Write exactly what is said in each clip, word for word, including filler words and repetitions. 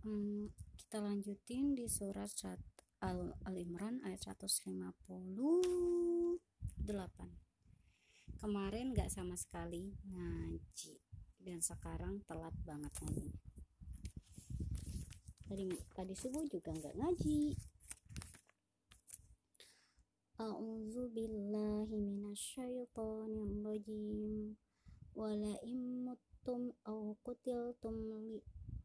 Hmm, kita lanjutin di surat Al- Al-Imran ayat seratus lima puluh delapan. Kemarin gak sama sekali ngaji dan sekarang telat banget ngaji. Tadi, tadi subuh juga gak ngaji. A'udzu billahi minasyaitonir rajim. Wala immuttum aw qutiltum li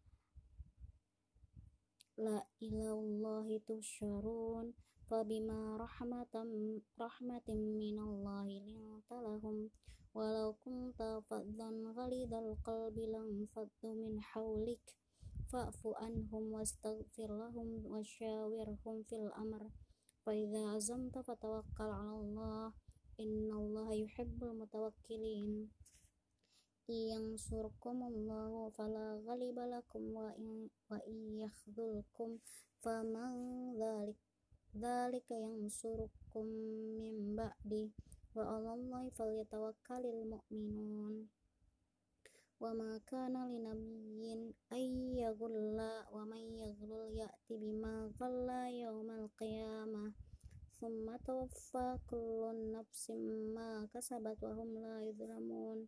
la ilallahi tusyarun fabima rahmatam rahmatin minallahi lintalahum walau kunta faddan ghalidal qalbi lam faddu min hawlik fa'fu anhum wastaghfir lahum wasyawirhum fil amr fa idza azamta fatawakkal 'alallah innallaha yuhibbul mutawakkilin. Yang surkumullahu fala ghaliba lakum wa in wa yakhdhulkum faman dhalik dzalika yang surukum min ba'di wa 'alallahi falyatawakkalul mu'minun. Wa ma kana linabiyyin ay yaghulla wa man yaghlul ya'ti bima ghalla yaumal qiyamah thumma tawaffa kullu nafsin ma kasabat wa hum la yuzlamun.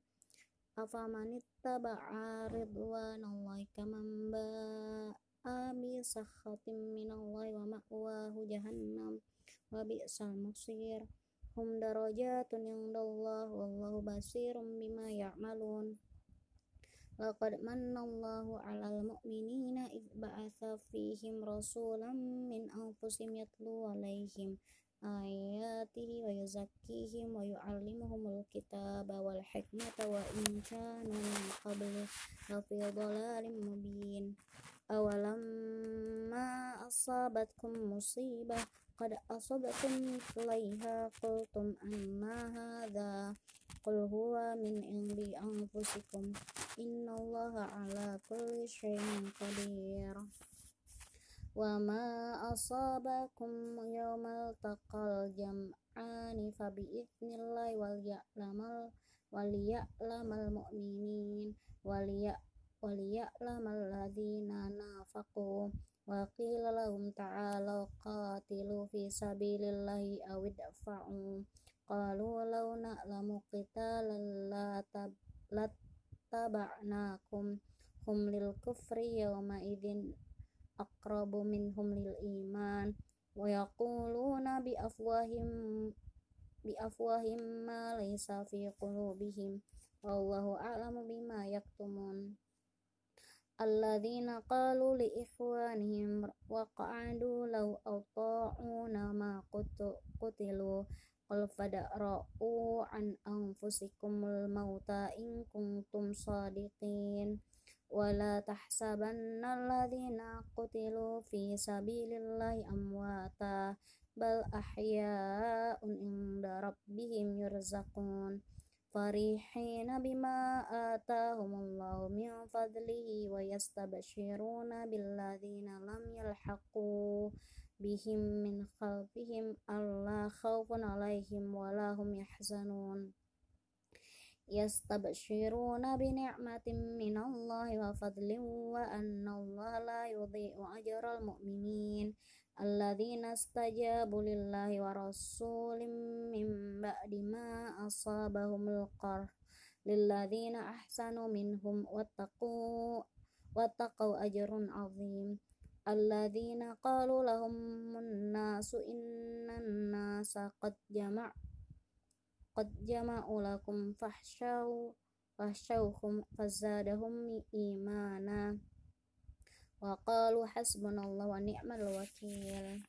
Afamanittaba'a ridwanallahi kaman ba'a bi sakhatin minallahi wa ma'wahu jahannam wa bi'sal masir. Hum darajatun indallah wallahu basirum bima ya'malun. Laqad mannallahu 'alal mu'minina idh ba'atsa fihim rasulan min anfusihim yatlu 'alaihim ayatihi wa yuzakkihim wa yu'allimuhumul kitaba wal hikmata wa in kanu min qablu lafi dhalalin mubin. Awalamma asabatkum musibah qad asabatum mithlaiha qultum anna hadha qul huwa min indi anfusikum innallaha ala kulli syai'in qadir. Wa ma asabakum yawmal taqal jam'ani fa bi'idnillahi wal ya'lamal wal ya'lamal mu'minin wal ya wal ya'lamal ladzina nafaqu wa qila lahum ta'alu qatilu fi sabilillahi aw idfa'u qalu law na'lamu qitalan lattaba'nakum hum lil kufri yawma idzin aqrabu minhum lil iman wa yaquluna bi afwahim bi afwahim ma laysa fi qulubihim wallahu a'lamu bima yaktumun. Alladzina qalu li ikhwanihim wa qa'adu law ata'una ma qutilu qul fadra'u an anfusikumul mauta in kuntum shadiqin. Wala tahsabanna alladzina qutilu fi sabilillahi amwata bal ahya'un inda rabbihim yurzaqun farihina bima atahumullahu min fadlihi wa yastabshiruna billadzina lam yalhaqu bihim min khalfihim alla khawfun alaihim wala hum yahzanun. Yastabshiruna bi ni'matin minallahi wa fadlin wa annallaha la yudhi'u ajral mu'minin alladzina istajabu lillahi wa rasulih min ba'di ma asabahumul qarh lilladzina ahsanu minhum wattaqu wattaqu ajrun 'azim. Alladzina qalu lahumun nasu innan nasa qad jama' qad jama'u lakum fahsyaw fahsyawhum fazadahum imana wa qalu hasbunallahu wa ni'mal wakil.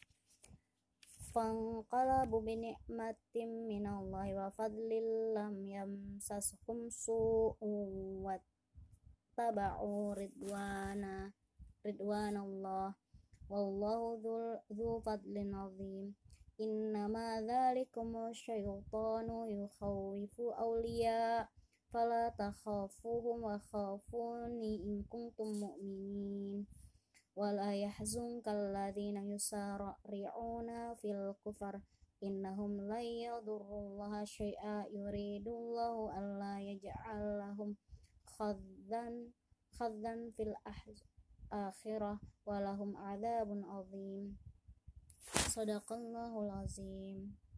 Fanqalabu bi ni'matin minallahi wa fadlin lam yamsashum su'un wattaba'u ridwana ridwanallah wallahu dzu fadlin 'azim. Innama dzalikum syaitanu yukhawwifu awliya fala takhafuhum wa khafuni in kuntum mu'minin. Wala yahzunka alladzina yusari'una fil kufar innahum la yadurrullaha syai'a yuridullahu alla yaj'al lahum khaddan khaddan fil ahz akhirah wa lahum adzabun adzim. Shadaqallahul azim.